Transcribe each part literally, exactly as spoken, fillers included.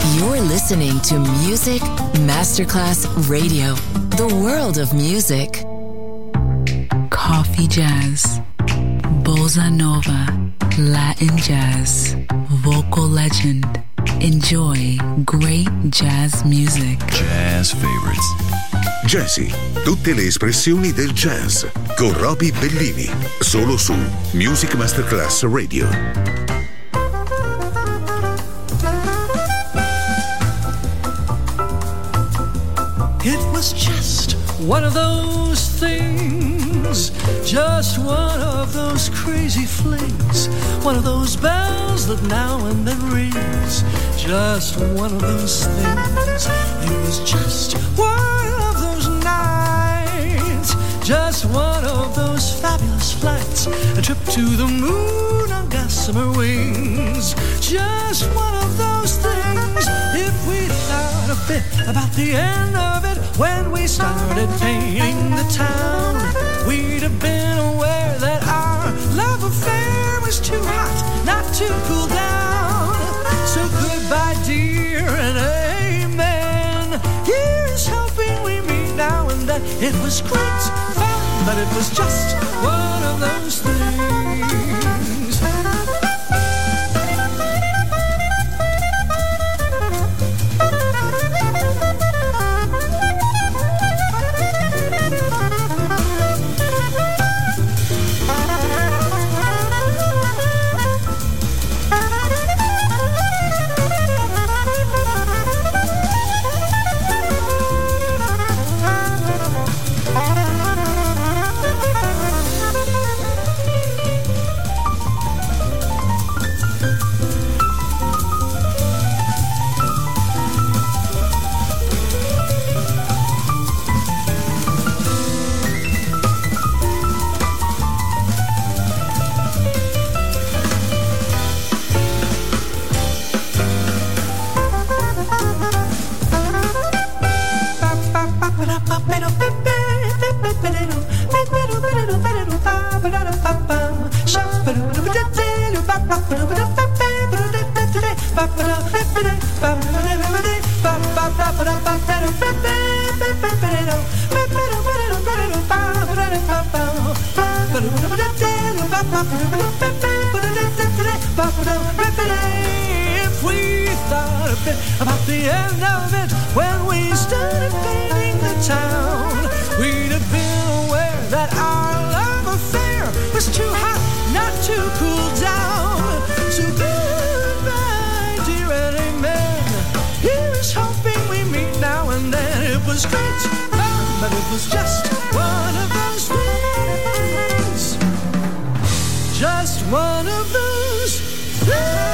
You're listening to Music Masterclass Radio, the world of music. Coffee jazz, bossa nova, Latin jazz, vocal legend. Enjoy great jazz music. Jazz favorites. Jazzy, tutte le espressioni del jazz con Roby Bellini, solo su Music Masterclass Radio. It was just one of those things, just one of those crazy flings, one of those bells that now and then rings, just one of those things. It was just one of those nights, just one of those fabulous flights, a trip to the moon on gossamer wings, just one of those things. If we thought a bit about the end of it when we started painting the town, we'd have been aware that our love affair was too hot not to cool down. So goodbye dear and amen, here's hoping we meet now and then. It was great fun, but it was just one of those things. If we thought a bit about the end of it when we started painting the town, we'd have been aware that our love affair was too hot not to cool down. So goodbye dear and amen, here's hoping we meet now and then. It was great fun, but it was just one of those things, just one of those things.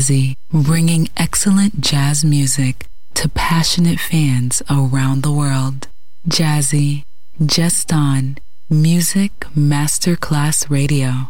Jazzy, bringing excellent jazz music to passionate fans around the world. Jazzy, just on Music Masterclass Radio.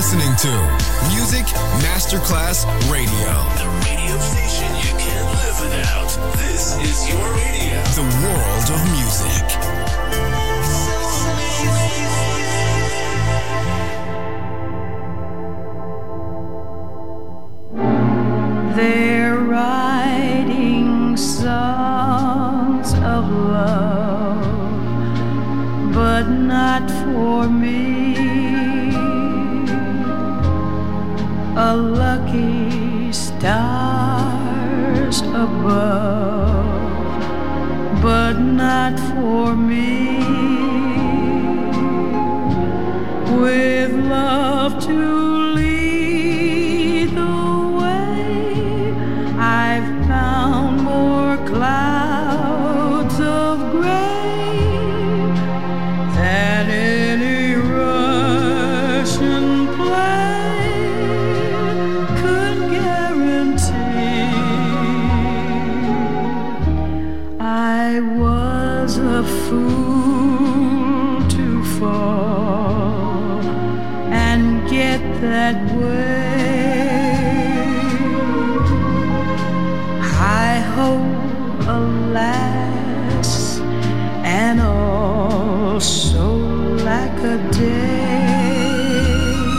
listening to Music Masterclass Radio. The radio station you can't live without. This is your radio. The world of music. They're writing songs of love, but not for me. A lucky stars above, but not for me. With love to lead the way, I've found more clouds of gray than any Russian play could guarantee. I was a fool to fall and get that way. I hope, alas, and also lack a day.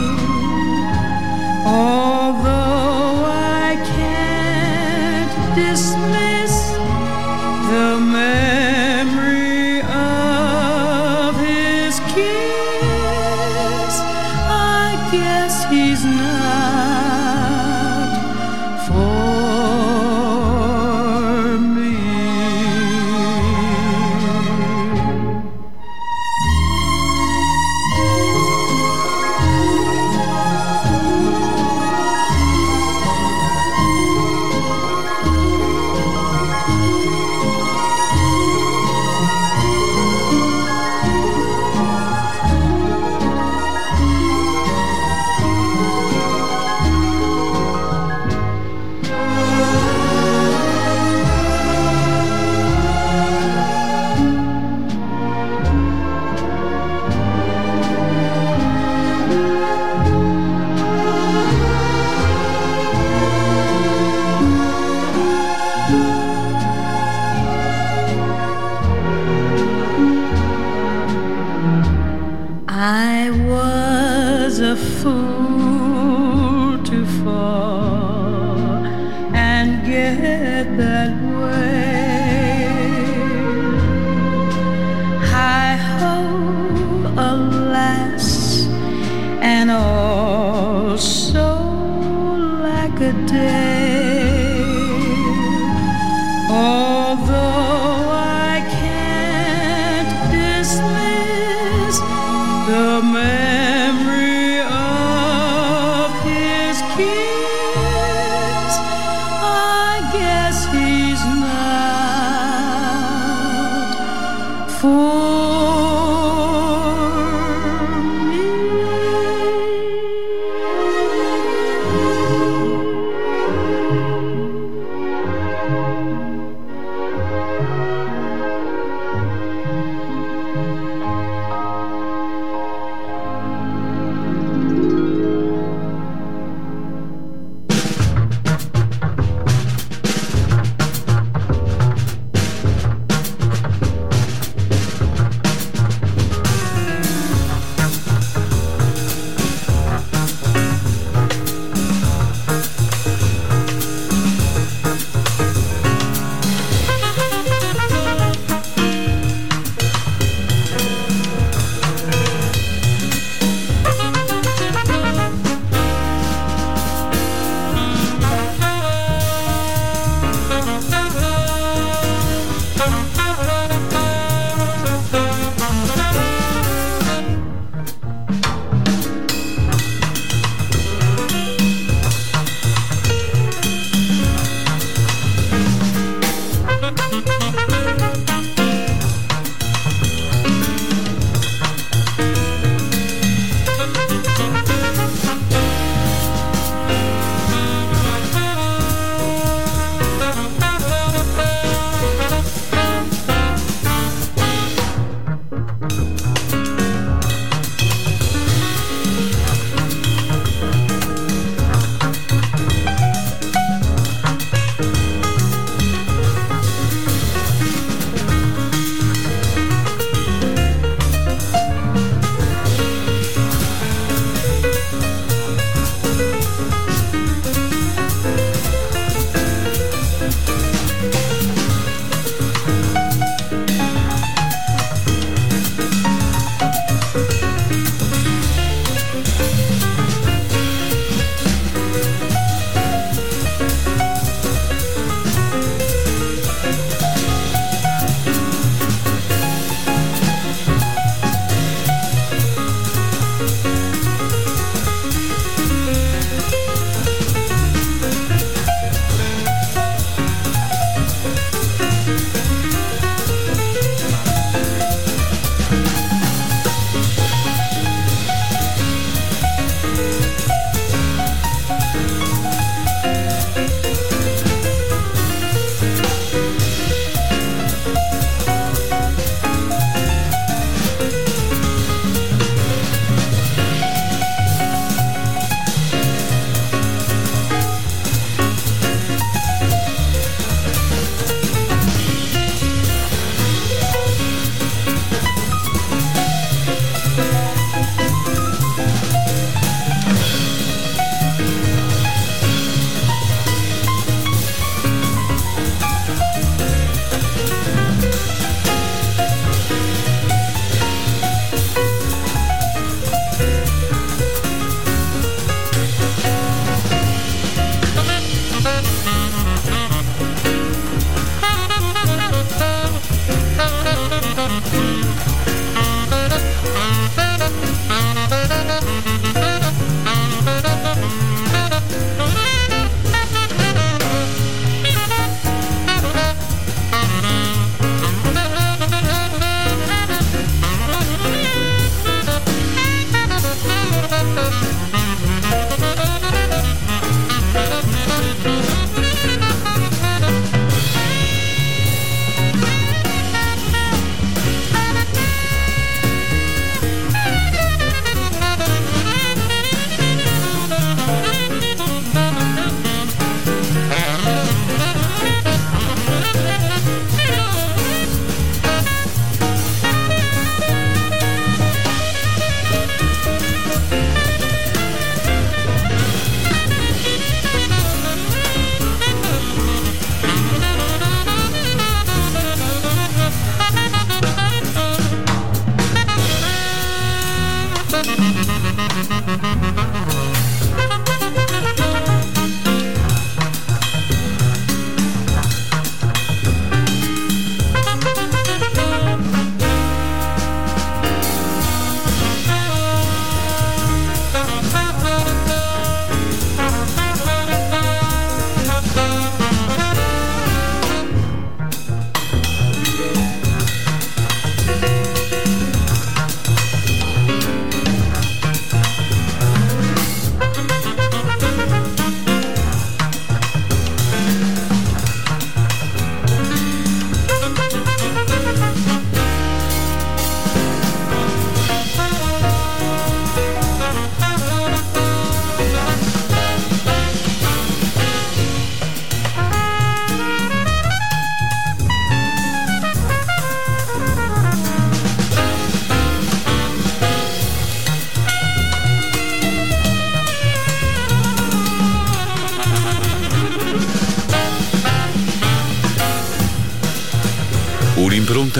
Although I can't dismiss the memory of his kiss, I guess he's not for me. I was a fool to fall and get that way. I hope, alas, and also lack a day. Although I can't dismiss the memory of his kiss, I guess he's not for me.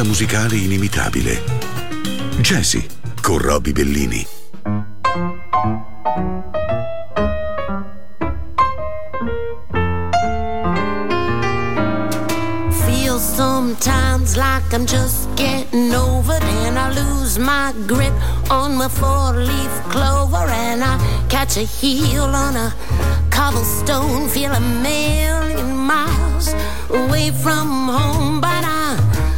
un'offerta musicale inimitabile. Jazzy con Roby Bellini. Feel sometimes like I'm just getting over it, and I lose my grip on my four-leaf clover, and I catch a heel on a cobblestone, feel a million miles away from home, but I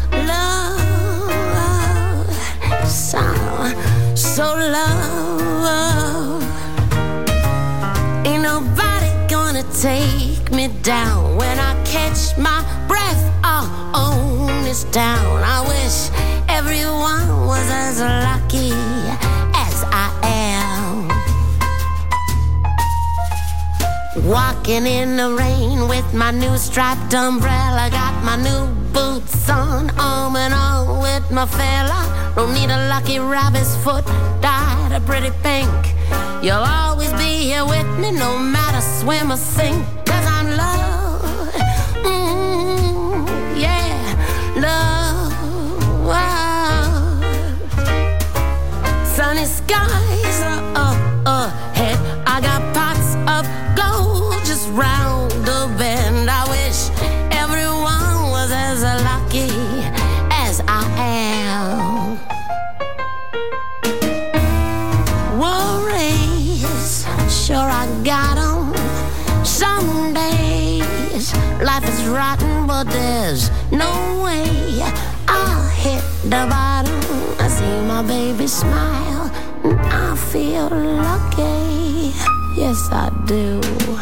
love, so, so love. Ain't nobody gonna take me down. When I catch my breath, I'll own this town. I wish everyone was as lucky as I am. Walking in the rain with my new striped umbrella, got my new boots on, arm in arm with my fella. Don't need a lucky rabbit's foot, dyed a pretty pink. You'll always be here with me, no matter swim or sink, 'cause I'm love, mm, yeah, love. Sunny skies are up ahead, I got pots of gold just round the bend. I wish everyone was as lucky as I am. Worries, sure I got 'em. Some days life is rotten, but there's no way I'll hit the bottom. I see my baby smile and I feel lucky. Yes, I do.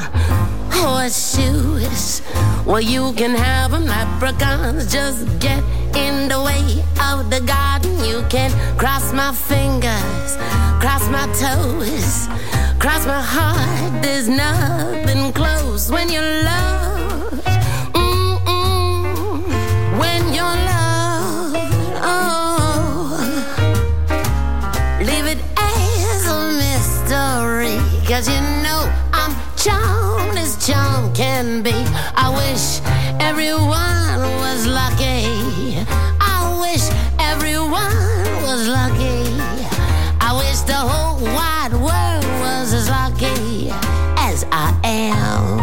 Horseshoes, well, you can have them. Leprechauns just get in the way of the garden. You can cross my fingers, cross my toes, cross my heart. There's nothing close when you love. Mm-mm. When you're loved, oh, leave it as a mystery, 'cause you know I'm charmed as charm can be. I wish everyone was lucky. I wish everyone was lucky. I wish the whole wide world was as lucky as I am.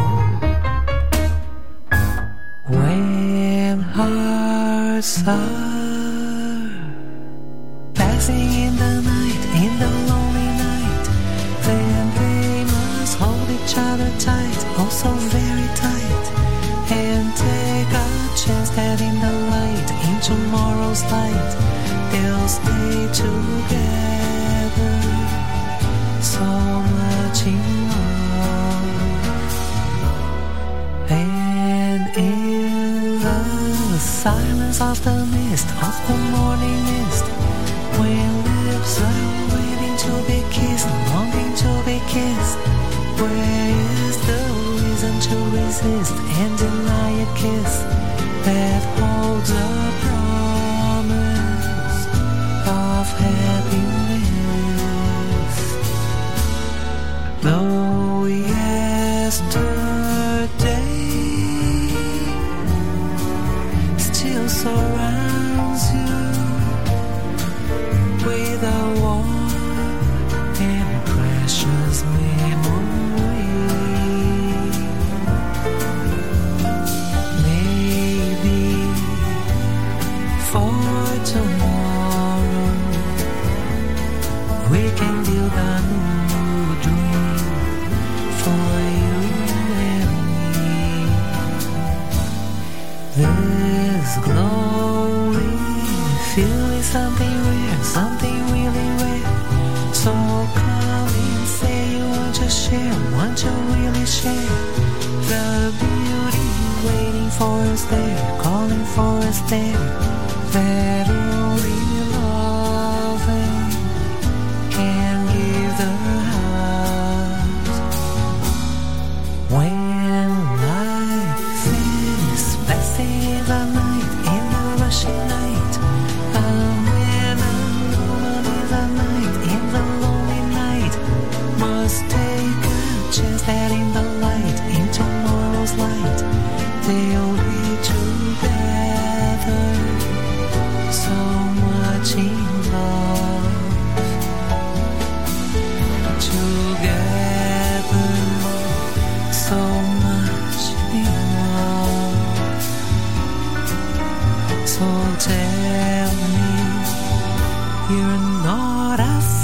When hearts are passing in the night, in the lonely night, then they must hold each other tight, oh so very tight, and take a chance that in the light, in tomorrow's light, they'll stay together, so much in love. And in the silence of the mist, of the morning mist, when lips are waiting to be kissed, longing to be kissed, where is the reason to resist and deny a kiss that holds a promise of happiness? Though yesterday still surrounds you with a warm and precious memory, maybe for tomorrow we can build a new dream for you and me. This glowing feeling, something rare, something really rare. So come and say you want to share, want to really share the beauty waiting for us there, calling for us there, that only loving can give the heart. When life is passing in the night, in the rushing night, and when a woman is a night, in the lonely night, must take a chance that in the light, in tomorrow's light, they'll be together,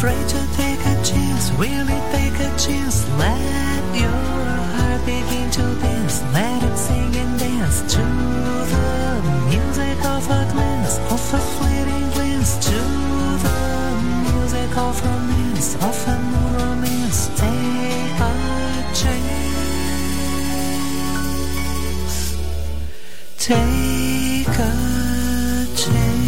afraid to take a chance, really take a chance. Let your heart begin to dance, let it sing and dance to the music of a glance, of a fleeting glance, to the music of romance, of a new romance. Take a chance, take a chance.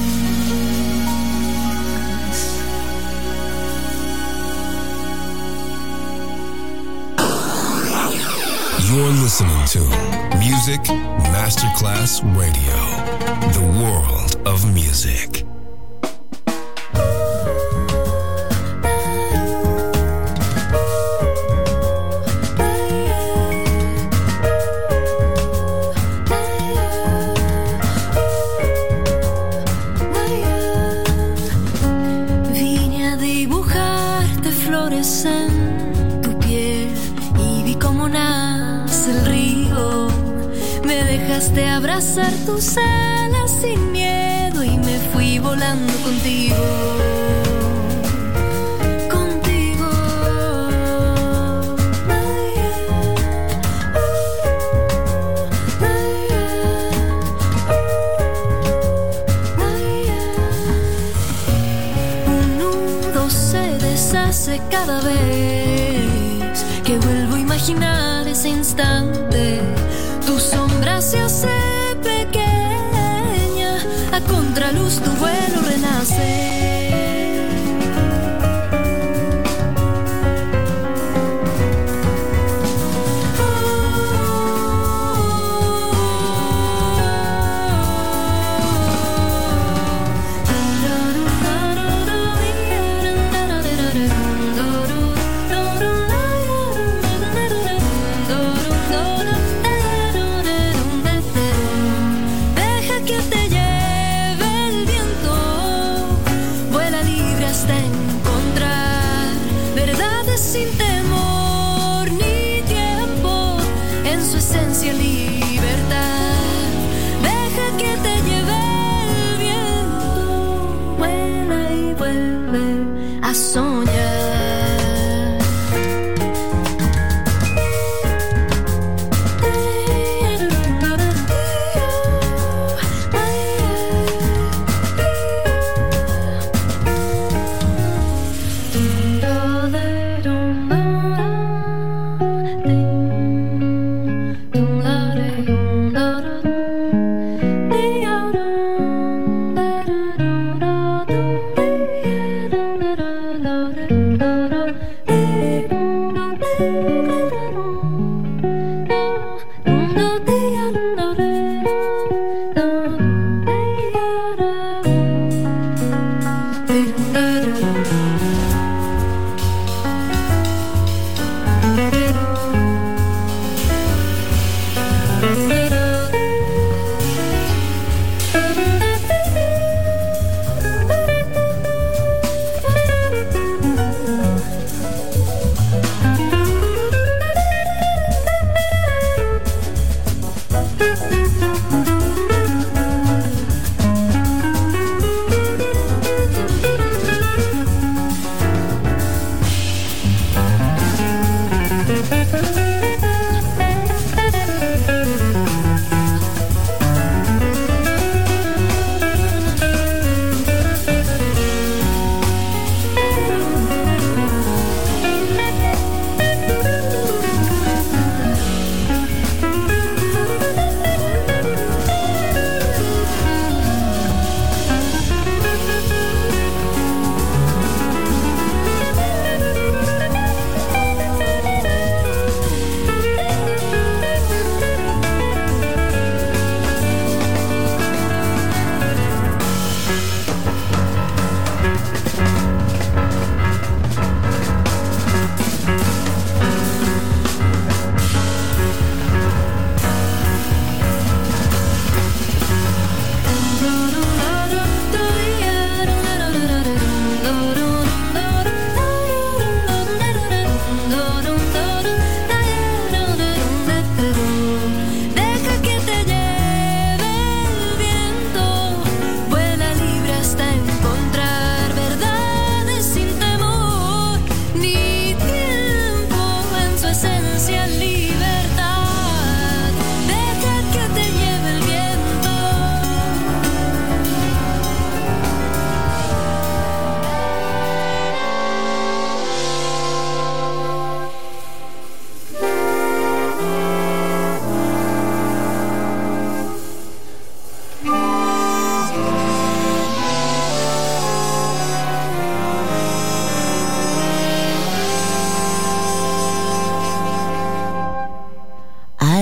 You're listening to Music Masterclass Radio, the world of music. Vine a dibujarte flores en tu piel y vi cómo nace el río. Me dejaste abrazar tus alas sin miedo y me fui volando contigo. Contigo. Un nudo se deshace cada vez que vuelvo a imaginar ese instante. Tu sombra se hace pequeña, a contraluz tu vuelo renace.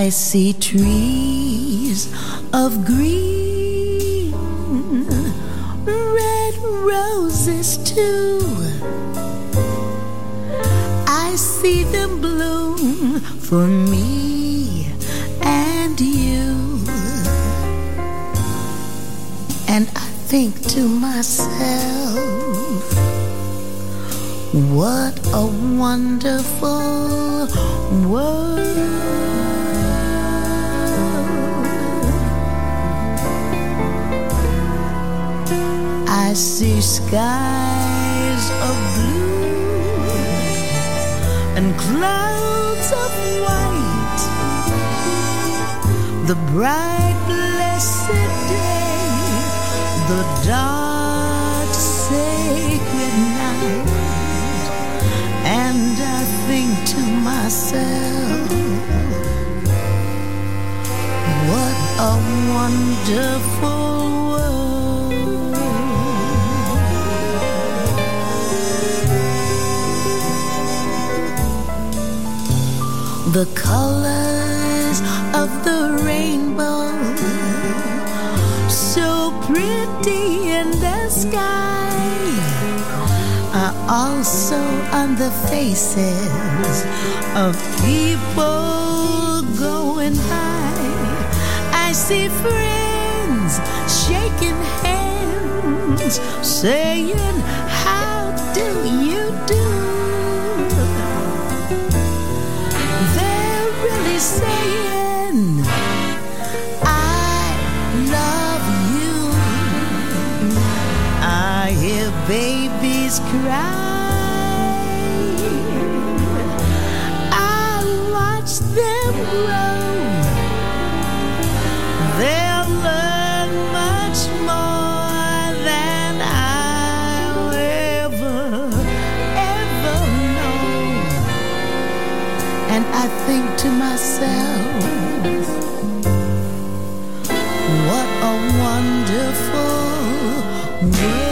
I see trees of green, red roses too. I see them bloom for me and you. And I think to myself, what a wonderful world. I see skies of blue and clouds of white, the bright blessed day, the dark sacred night. And I think to myself, what a wonderful world. The colors of the rainbow, so pretty in the sky, are also on the faces of people going by. I see friends shaking hands, saying, how do you do? They're really saying, I love you. I hear babies cry. I watch them grow. They'll learn much more than I'll ever, ever know. And I think to myself, what a wonderful world.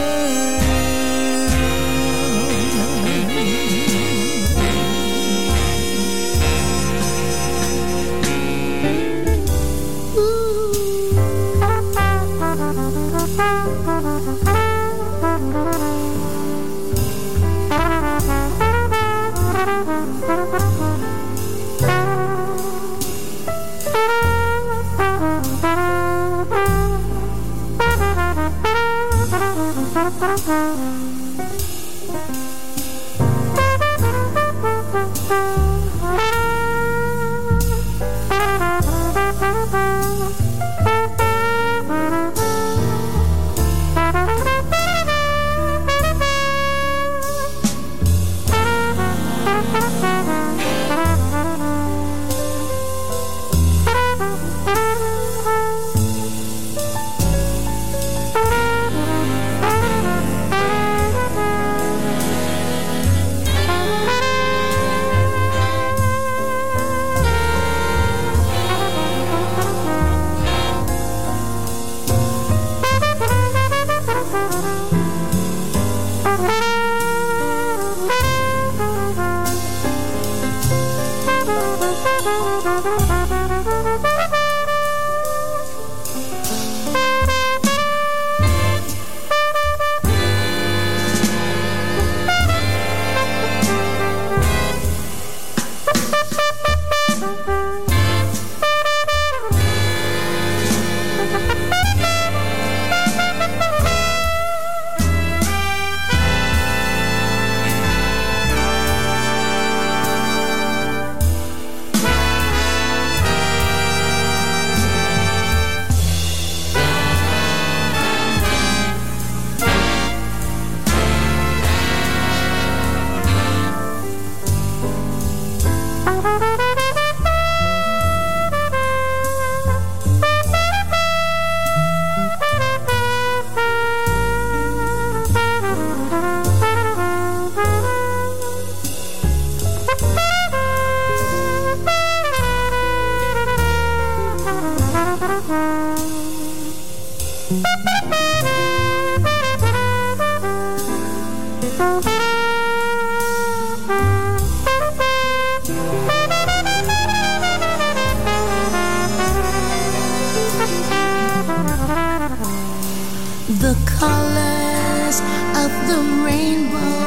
colors of the rainbow,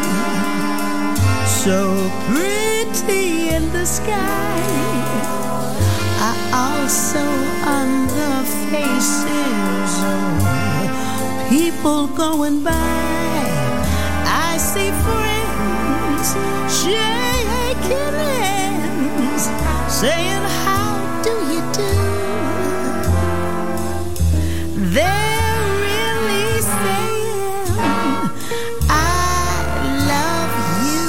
so pretty in the sky, are also on the faces of people going by. I see friends shaking hands, saying how do you do. They're really saying I love you.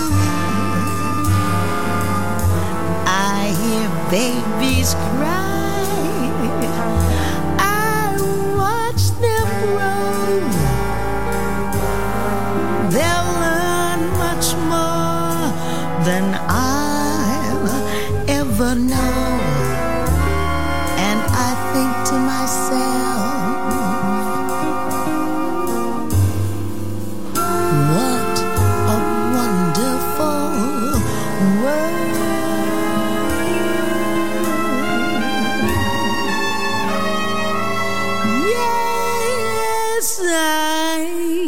I hear babies cry, I watch them grow. They'll learn much more than I'll ever know. And I think to myself, what a wonderful world. Yes, I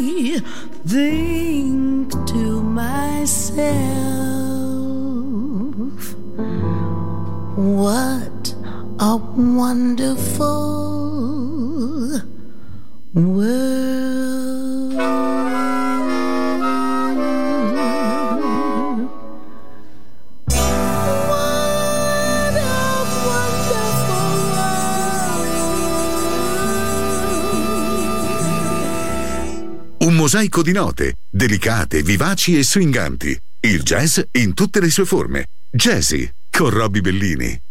think to myself, what a wonderful world. What a wonderful world. Un mosaico di note, delicate, vivaci e swinganti. Il jazz in tutte le sue forme. Jazzy con Robbie Bellini.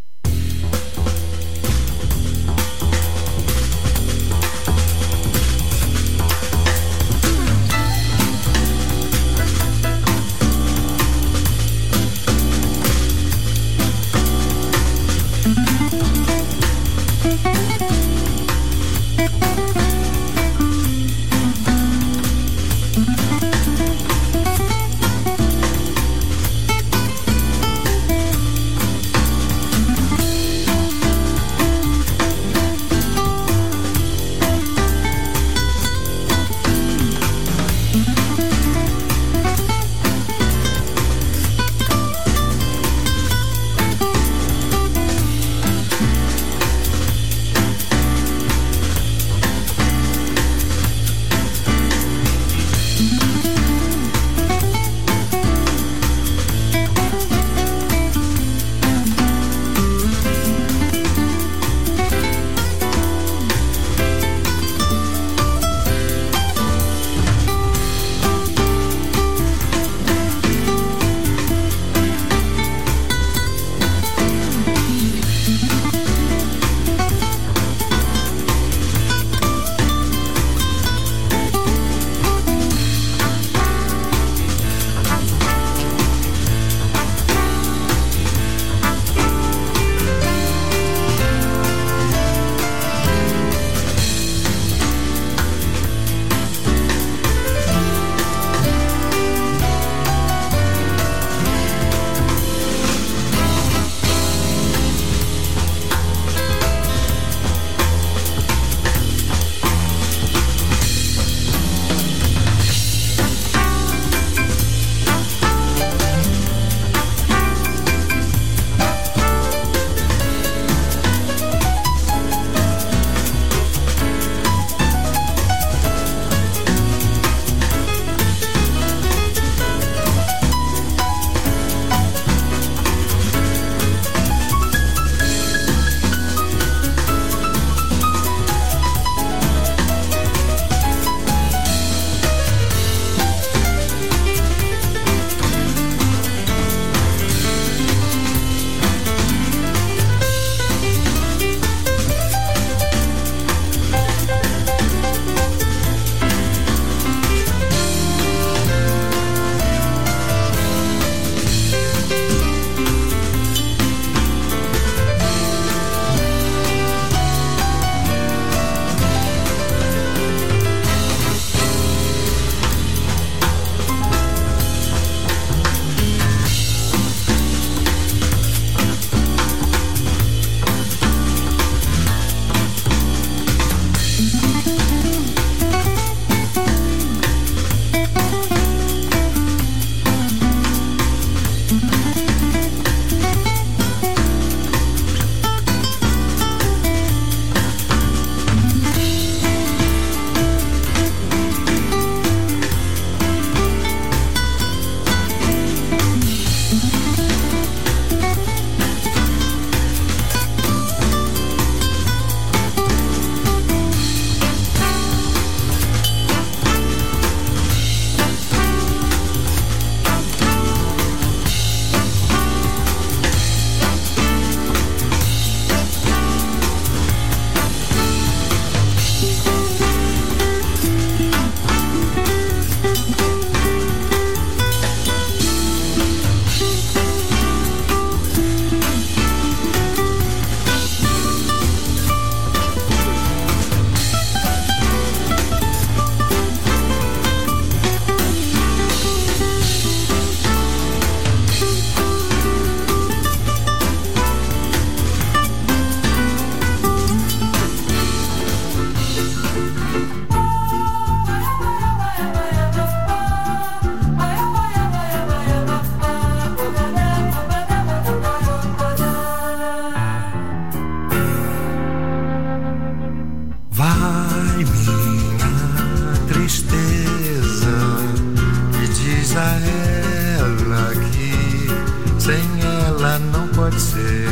estrela que sem ela não pode ser.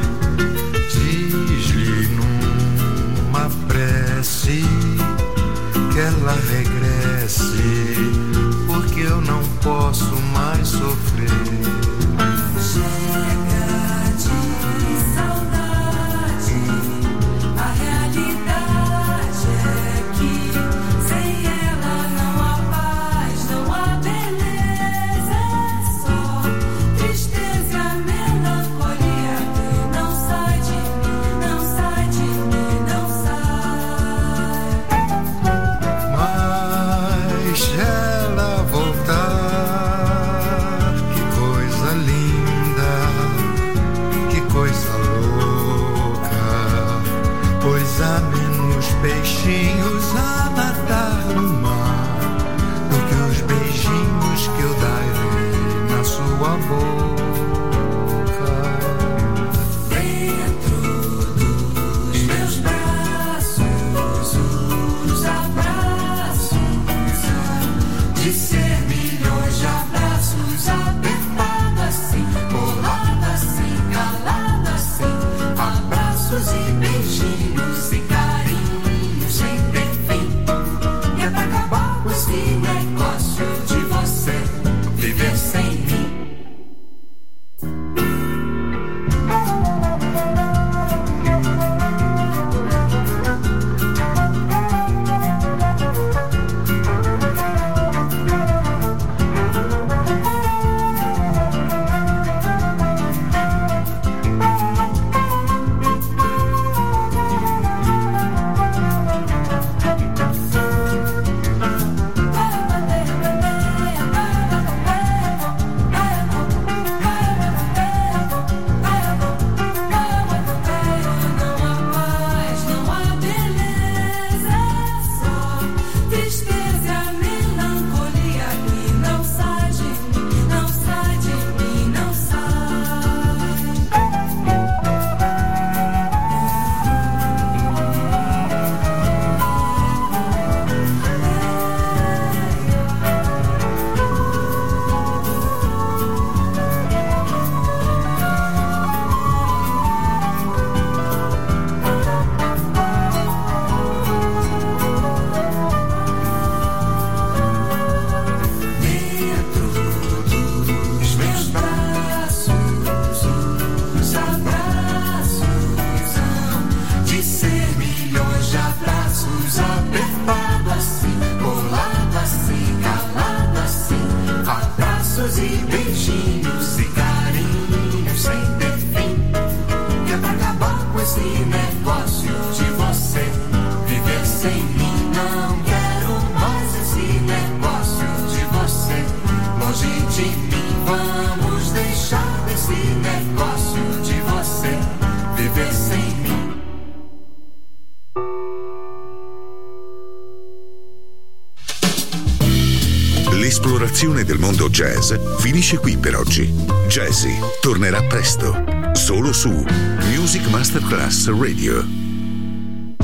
Diz-lhe numa prece que ela regresse, porque eu não posso mais sofrer. Chega de saudade, a realidade é que sem ela não há paz, não há beleza, é só tristeza e a melancolia que não sai de mim, não sai de mim, não sai. Mas ela voltar, que coisa linda, que coisa louca, pois há menos peixinhos a nadar no mar do que os beijinhos que eu darei na sua boca. Dentro dos meus braços, os abraços de ser milhões de abraços, apertado assim, colado assim, calado assim, abraços e beijinhos e carinhos sem ter fim. E é pra acabar com esse negócio de você viver sem mim. L'esplorazione del mondo jazz finisce qui per oggi. Jazzy tornerà presto, solo su Music Masterclass Radio.